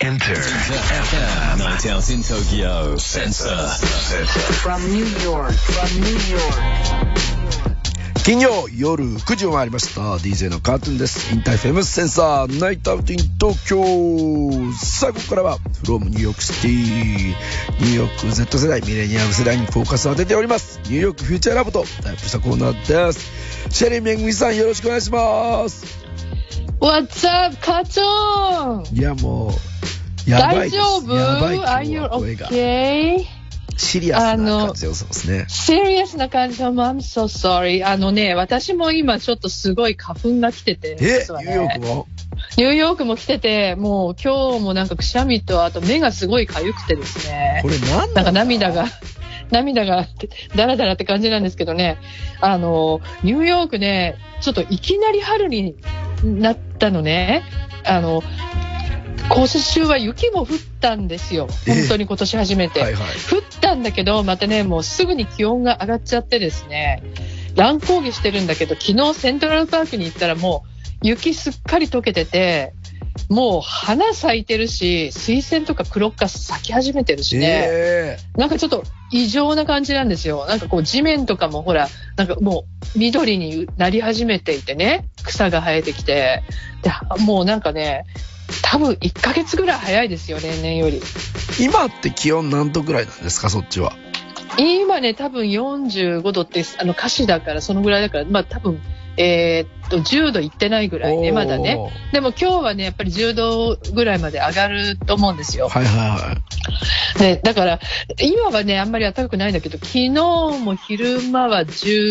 Enter FM. Night out in Tokyo. Sensor. From New York. 金曜夜9時を回りました。 DJ のカートゥーンです。インターフェムセンサーナイトアウトイン東京。さあここからは from ニューヨークシティ、ニューヨーク Z 世代ミレニアム世代にフォーカスを当てておりますニューヨークフューチャーラボとタイプしたコーナーです。シェリーめぐみさん、よろしくお願いします。 What's up カチョン。 いやもうやばいです。 大丈夫？ やばい。 Are you okay? シリアスな感じでそうですね。 シリアスな感じは I'm so sorry。私も今ちょっとすごい花粉が来てて、 ニューヨークもニューヨークも来てて、もう今日もなんかくしゃみと、あと目がすごい痒くてですね。 これなんか涙がダラダラって感じなんですけどね。ニューヨークね、ちょっといきなり春になったのね。今週は雪も降ったんですよ。本当に今年初めて。降ったんだけど、またね、もうすぐに気温が上がっちゃってですね、乱高下してるんだけど、昨日セントラルパークに行ったらもう雪すっかり溶けてて、もう花咲いてるし、水仙とかクロッカス咲き始めてるしね、なんかちょっと異常な感じなんですよ。なんかこう地面とかもほら、なんかもう緑になり始めていてね、草が生えてきて、でもうなんかね、多分1ヶ月ぐらい早いですよ、例年より。 今って気温何度ぐらいなんですか、そっちは。 今ね、多分45度って歌詞だからそのぐらいだから、まあ多分10度いってないぐらいね、まだね。でも今日はね、やっぱり10度ぐらいまで上がると思うんですよ。で、だから今はね、あんまり暖かくないんだけど、昨日も昼間は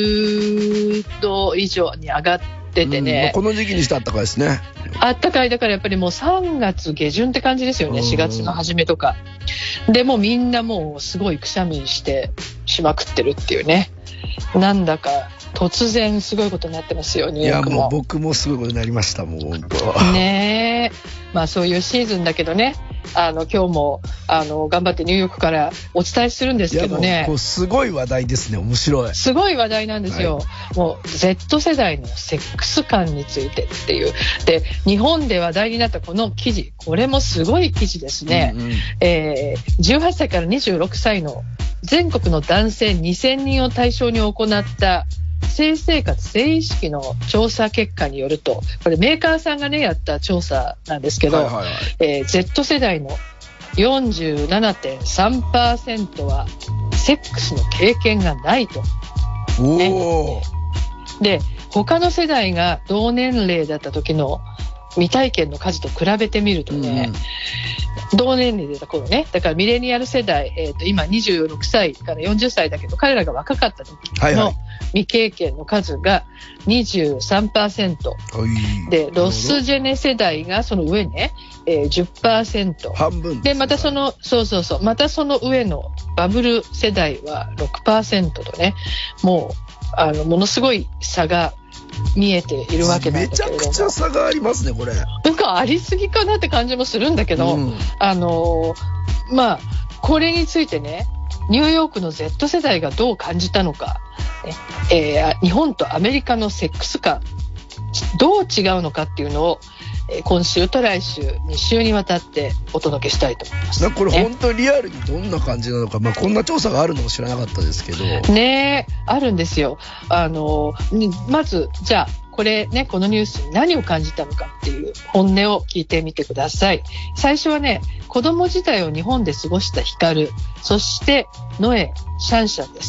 10度以上に上がっててね、 この時期にして暖かいですね。 暖かい。だからやっぱりもう3月下旬って感じですよね。4月の初めとかで、もうみんなもうすごいくしゃみしてしまくってるっていうね。なんだか突然すごいことになってますよ、ニューヨークも。 いやもう僕もすごいことになりました、もう本当ねえ。まあそういうシーズンだけどね、今日も頑張ってニューヨークからお伝えするんですけどね。 いやもうこうすごい話題ですね。面白い。 すごい話題なんですよ、もう Z 世代のセックス感についてっていう。で、日本で話題になったこの記事、これもすごい記事ですね。18歳から26歳の全国の男性2000人を対象に行った性生活性意識の調査結果によると、これメーカーさんがねやった調査なんですけど、Z 世代の 47.3% はセックスの経験がないと、ね、で他の世代が同年齢だった時の未体験の数と比べてみるとね、同年齢でた頃ね、だからミレニアル世代、今26歳から40歳だけど、彼らが若かった時の未経験の数が 23%、でロスジェネ世代がその上ね、10%、 半分でまたそのまたその上のバブル世代は 6% とね、もうものすごい差が見えているわけなんだけれども、 めちゃくちゃ差がありますね、これ。 なんかありすぎかなって感じもするんだけど、まあこれについてね、ニューヨークの Z 世代がどう感じたのか、日本とアメリカのセックス感どう違うのかっていうのを、今週と来週2週にわたってお届けしたいと思います。 これ本当にリアルにどんな感じなのか、こんな調査があるのも知らなかったですけどね。あるんですよ。まずじゃあこれね、このニュースに何を感じたのかっていう本音を聞いてみてください。最初はね、子供時代を日本で過ごしたヒカル、そしてノエ、シャンシャンです。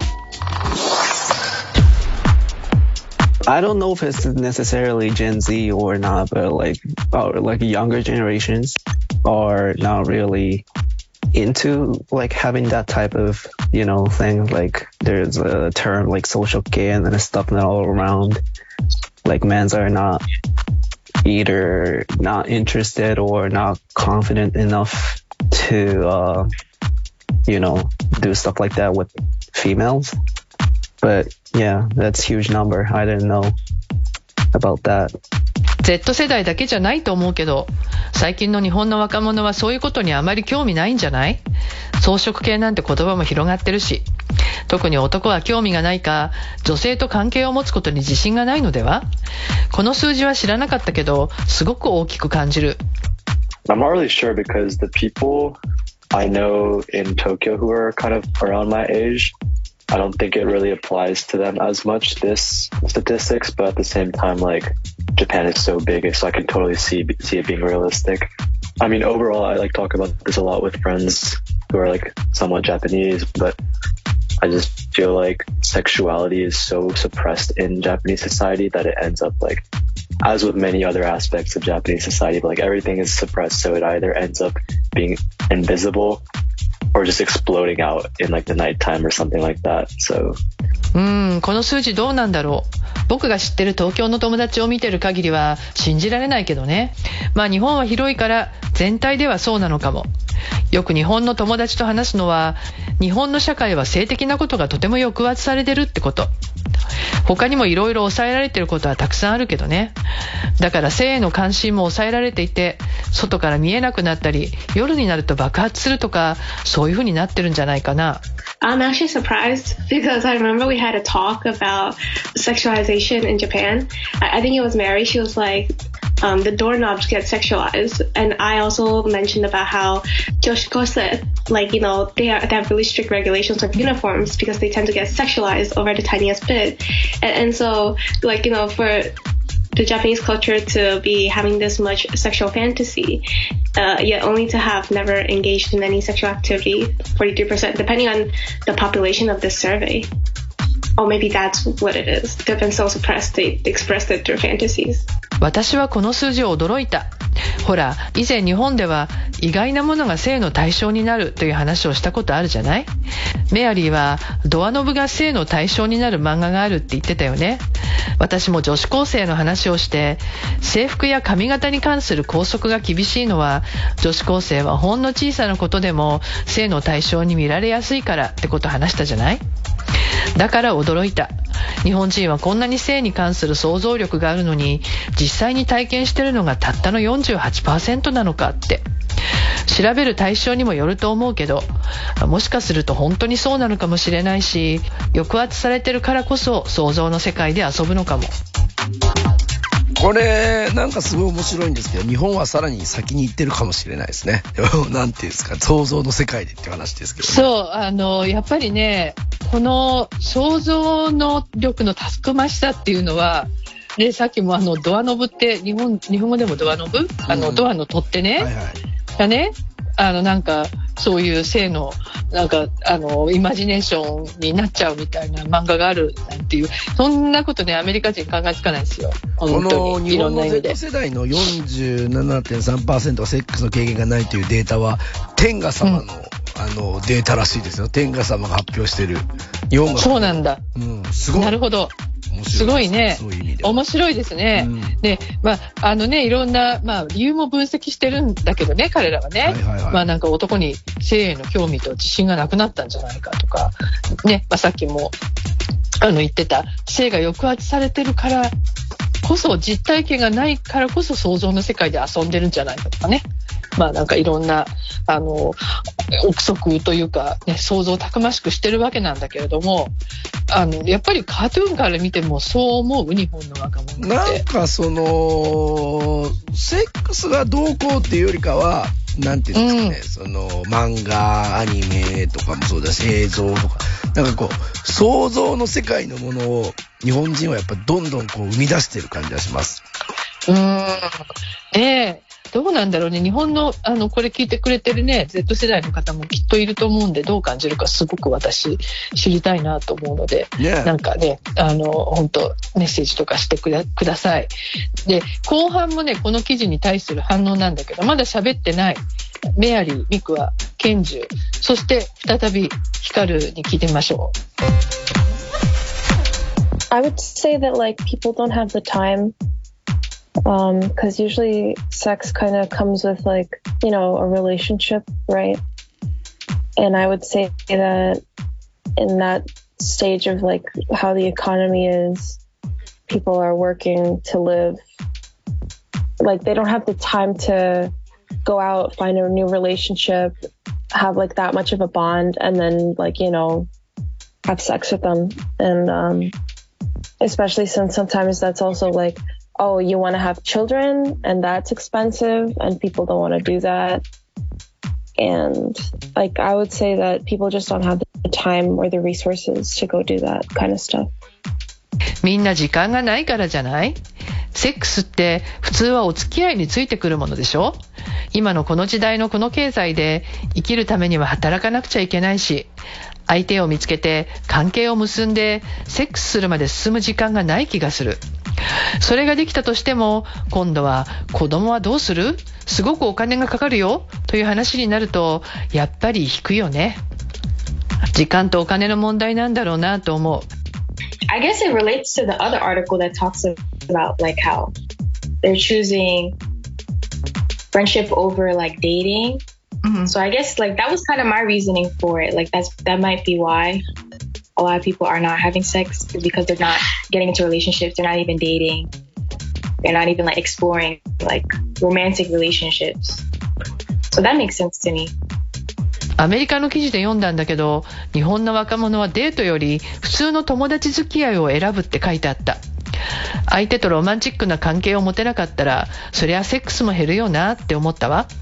I don't know if it's necessarily Gen Z or not, but like younger generations are not really into like having that type of, thing. Like there's a term like social care and stuff all around. Like men's are not either not interested or not confident enough to, do stuff like that with females. But yeah, that's a huge number. I didn't know about that. Z 世代だけじゃないと思うけど、最近の日本の若者はそういうことにあまり興味ないんじゃない？草食系なんて言葉も広がってるし、特に男は興味がないか、女性と関係を持つことに自信がないのでは？この数字は知らなかったけど、すごく大きく感じる。 I'm not really sure because the people I know in Tokyo who are kind of around my age, I don't think it really applies to them as much, this statistics, but at the same time, like, Japan is so big, so I can totally see it being realistic. I mean, overall, I like talk about this a lot with friends who are like somewhat Japanese, but I just feel like sexuality is so suppressed in Japanese society that it ends up like, as with many other aspects of Japanese society, but like everything is suppressed, so it either ends up being invisible or just exploding out in like the nighttime or something like that. So この数字どうなんだろう。僕が知ってる東京の友達を見てる限りは信じられないけどね。まあ日本は広いから全体ではそうなのかも。よく日本の友達と話すのは、日本の社会は性的なことがとても抑圧されてるってこと。他にもいろいろ抑えられてることはたくさんあるけどね。だから性への関心も抑えられていて、外から見えなくなったり、夜になると爆発するとか、そういう風になってるんじゃないかな。 I'm actually surprised because I remember we had a talk about sexualization in Japan. I think it was Mary. She was like, the doorknobs get sexualized. And I also mentioned about how Joshikose, like, you know, they have really strict regulations of uniforms because they tend to get sexualized over the tiniest bit. And so, like, you know, for the Japanese culture to be having this much sexual fantasy, yet only to have never engaged in any sexual activity, 43%, depending on the population of this survey. Or maybe that's what it is. They've been so suppressed, they expressed it through fantasies. 私はこの数字を驚いた。ほら、以前日本では意外なものが性の対象になるという話をしたことあるじゃない？メアリーはドアノブが性の対象になる漫画があるって言ってたよね。私も女子高生の話をして、制服や髪型に関する校則が厳しいのは、女子高生はほんの小さなことでも性の対象に見られやすいからってことを話したじゃない？だから驚いた。日本人はこんなに性に関する想像力があるのに、実際に体験しているのがたったの 48% なのかって。調べる対象にもよると思うけど、もしかすると本当にそうなのかもしれないし、抑圧されてるからこそ想像の世界で遊ぶのかも。 これなんかすごい面白いんですけど、日本はさらに先に行ってるかもしれないですね。なんていうんですか、想像の世界でって話ですけど、ね、 そうやっぱりね、この想像の力のたくましさっていうのは、でさっきもドアノブって日本語でもドアノブ、ドアの取っ手ね、はいはい、がね、なんかそういう性のなんかイマジネーションになっちゃうみたいな漫画があるなんていう、そんなことねアメリカ人考えつかないですよ。本当にいろんな意味で。この日本の Z 世代の 47.3% はセックスの経験がないというデータは天下様の、データらしいですよ。天下様が発表してる日本が。そうなんだ、すごい。なるほど、すごいね。そういう意味で面白いですね。で、いろんな、理由も分析してるんだけどね、彼らはね。なんか男に性への興味と自信がなくなったんじゃないかとか、ね、さっきも言ってた性が抑圧されてるからこそ、実体験がないからこそ想像の世界で遊んでるんじゃないかとかね。なんかいろんな憶測というか、ね、想像をたくましくしてるわけなんだけれども、やっぱりカートゥーンから見てもそう思う、日本の若者って。 なんかセックスがどうこうっていうよりかは、なんていうんですかね、漫画、アニメとかもそうだし、映像とか、なんかこう想像の世界のものを日本人はやっぱどんどんこう生み出してる感じがします。 どうなんだろうね。日本のこれ聞いてくれてるね Z 世代の方もきっといると思うんで、どう感じるかすごく私知りたいなと思うので、なんかね本当メッセージとかしてください。で後半もねこの記事に対する反応なんだけど、まだ喋ってないメアリー、ミクワ、ケンジュ、そして再びヒカルに聞いてみましょう。 I would say that like people don't have the time.Because usually sex kind of comes with like, you know, a relationship, right? And I would say that in that stage of like how the economy is, people are working to live. Like they don't have the time to go out, find a new relationship, have like that much of a bond, and then like, you know, have sex with them. And especially since sometimes that's also like oh, you want to have children and that's expensive and people don't want to do that. And like, I would say that people just don't have the time or the resources to go do that kind of stuff. みんな時間がないからじゃない？セックスって普通はお付き合いについてくるものでしょ？今のこの時代のこの経済で生きるためには働かなくちゃいけないし、相手を見つけて関係を結んでセックスするまで進む時間がない気がする。それができたとしても、今度は子供はどうする？すごくお金がかかるよという話になると、やっぱり引くよね。時間とお金の問題なんだろうなと思う。 I guess it relates to the other article that talks about like how they're choosing friendship over like dating. Mm-hmm. So I guess like that was kind of my reasoning for it. Like that might be why a lot of people are not having sex, because they're not getting into relationships. They're not even dating. They're not even like exploring like romantic relationships. So that makes sense to me. アメリカの記事で読んだんだけど、日本の若者はデートより普通の友達付き合いを選ぶって書いてあった。相手とロマンチックな関係を持てなかったら、そりゃセックスも減るよなって思ったわ。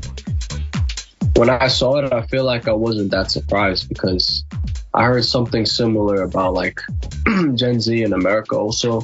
When I saw it, I feel like I wasn't that surprised because I heard something similar about like Gen Z in America also.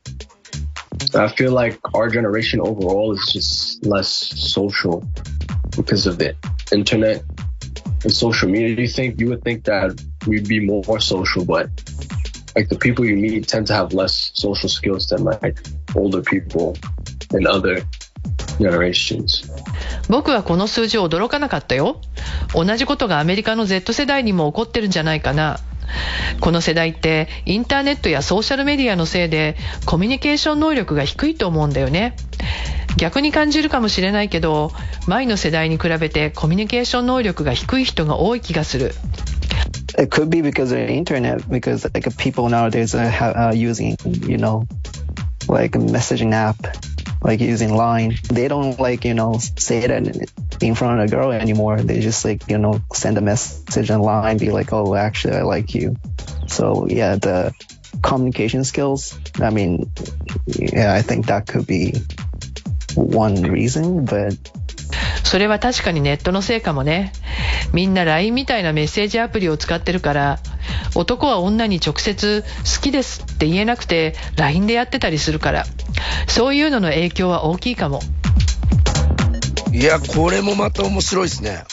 I feel like our generation overall is just less social because of the internet and social media. You would think that we'd be more social, but like the people you meet tend to have less social skills than like older people in other generations. 僕はこの数字驚かなかったよ。同じことがアメリカの Z 世代にも起こってるんじゃないかな。この世代ってインターネットやソーシャルメディアのせいでコミュニケーション能力が低いと思うんだよね。逆に感じるかもしれないけど、前の世代に比べてコミュニケーション能力が低い人が多い気がする。 It could be because of the internet, because like people nowadays are using, you know, like a messaging app, like using Line. They don't like, you know, say that in front of a girl anymore. They just like, you know, send a message on Line, be like, oh, actually, I like you. So yeah, the communication skills, I mean, yeah, I think that could be one reason, but それは確かにネットのせいかもね。みんな LINE みたいなメッセージアプリを使ってるから、男は女に直接好きですって言えなくて LINE でやってたりするから、そういうのの影響は大きいかも。 いや、これもまた面白いですね。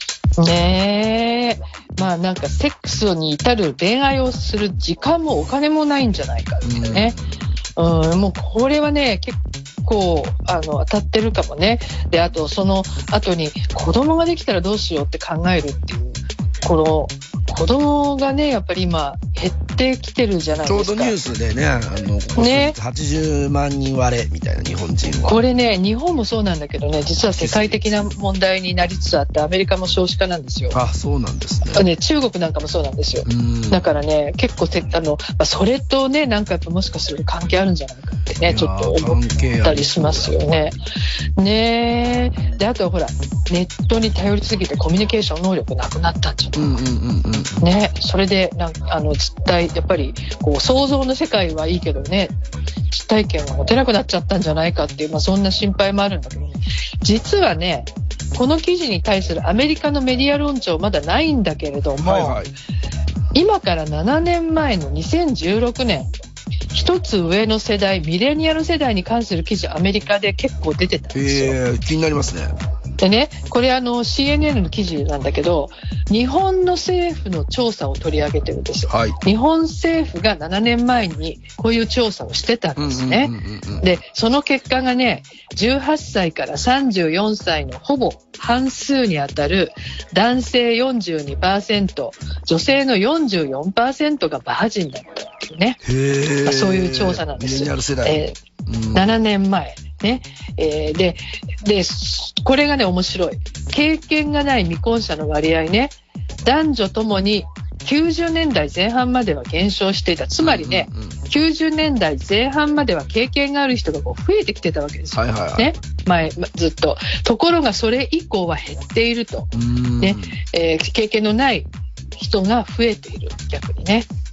ねえ。まあなんかセックスに至る恋愛をする時間もお金もないんじゃないかっていうね。もうこれはね、結構当たってるかもね。で、あとその後に子供ができたらどうしようって考えるっていう、この子供がね、やっぱり今減ってきてるじゃないですか。 ちょうどニュースでね、ここ80万人割れみたいな、日本人は。 これね、日本もそうなんだけどね、実は世界的な問題になりつつあって、アメリカも少子化なんですよ。 あ、そうなんですね。 中国なんかもそうなんですよ。だからね、結構それとね、なんかやっぱもしかすると関係あるんじゃないかってね、ちょっと思ったりしますよね。ねえ。で、あとはほら、ネットに頼りすぎてコミュニケーション能力なくなったんじゃないか。ね、それで実体やっぱりこう想像の世界はいいけどね、実体験が持てなくなっちゃったんじゃないかっていう、そんな心配もあるんだけどね。実はね、この記事に対するアメリカのメディア論調まだないんだけれども、今から7年前の2016年、一つ上の世代、ミレニアル世代に関する記事、アメリカで結構出てたんですよ。 気になりますね。 でね、これCNN の記事なんだけど、日本の政府の調査を取り上げてるんですよ。日本政府が7年前にこういう調査をしてたんですね。で、その結果がね、18歳から34歳のほぼ半数にあたる男性 42%、女性の 44% がバージンだったっていうね。そういう調査なんですよ。7年前。ね、で、これがね、面白い。経験がない未婚者の割合ね、男女ともに90年代前半までは減少していた。つまりね、90年代前半までは経験がある人がこう増えてきてたわけですよ。ね、ずっと。ところがそれ以降は減っていると。ね、経験のない人が増えている、逆にね。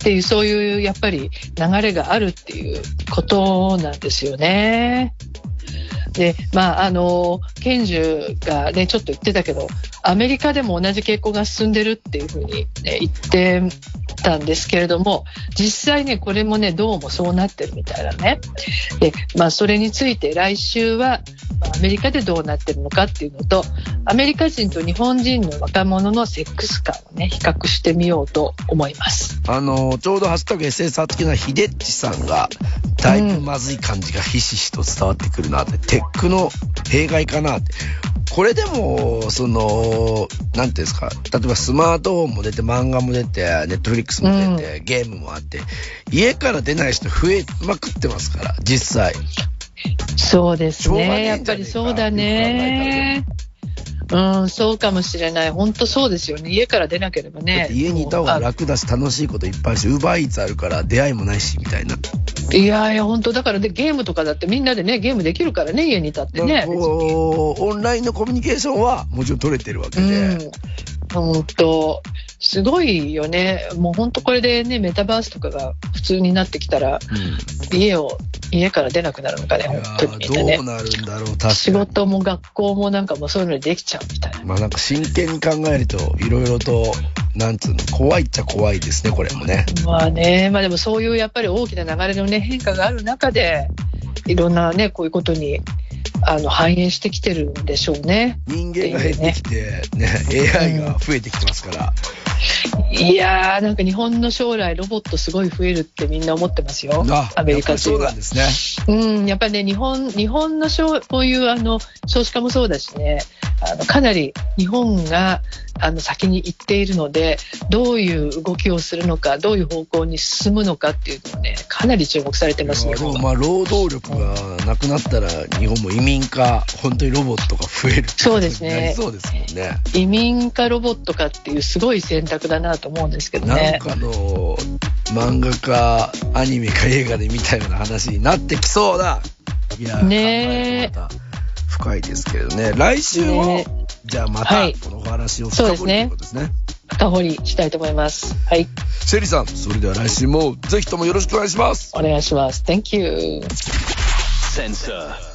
っていう、そういうやっぱり流れがあるっていうことなんですよね。で、ケンジュがね、ちょっと言ってたけど、アメリカでも同じ傾向が進んでるっていうふうに、ね、言ってたんですけれども、実際ね、これもね、どうもそうなってるみたいなね。で、それについて来週は、アメリカでどうなってるのかっていうのと、アメリカ人と日本人の若者のセックス感をね、比較してみようと思います。 ちょうどハッシュタグ SSR 的なヒデッチさんが、だいぶまずい感じがひしひしと伝わってくるなって、テックの弊害かなって。これでも、なんていうんですか、例えばスマートフォンも出て、漫画も出て、ネットフリックスも出て、ゲームもあって、家から出ない人増えまくってますから、実際。 そうですね。やっぱりそうだね。そうかもしれない。本当そうですよね。家から出なければね。 家にいた方が楽だし、楽しいこといっぱいあるし、ウーバーイーツあるから出会いもないし、みたいな。 いや本当だからで、ゲームとかだってみんなでね、ゲームできるからね、家にいたってね。 オンラインのコミュニケーションはもちろん取れてるわけで。 本当すごいよね。もう本当これでね、メタバースとかが普通になってきたら、家から出なくなるのかね、本当にみんなね。 どうなるんだろう、確かに。 仕事も学校もなんかもうそういうのでできちゃうみたいな。 なんか真剣に考えると、いろいろと、なんつうの、怖いっちゃ怖いですね、これもね。 でもそういうやっぱり大きな流れのね、変化がある中で、いろんなね、こういうことに、反映してきてるんでしょうね。 人間が減ってきて、AI が増えてきてますから。 いやー、なんか日本の将来ロボットすごい増えるってみんな思ってますよ。アメリカ人は。 そうなんですね。 やっぱりね、日本のこういう少子化もそうだしね、かなり日本が先に行っているので、どういう動きをするのか、どういう方向に進むのかっていうのをね、かなり注目されてますね。 労働力がなくなったら日本も移民か本当にロボットが増えるってことになりそうですもんね。 移民かロボットかっていうすごい選択だなと思うんですけどね。 なんかの漫画かアニメか映画で見たような話になってきそうだ。いやね、考え方深いですけれどね。来週も、じゃあまたこのお話を深掘りということですね。 深掘りしたいと思います。はい。 シェリーさん、それでは来週もぜひともよろしくお願いします。 お願いします。Thank you. Sensor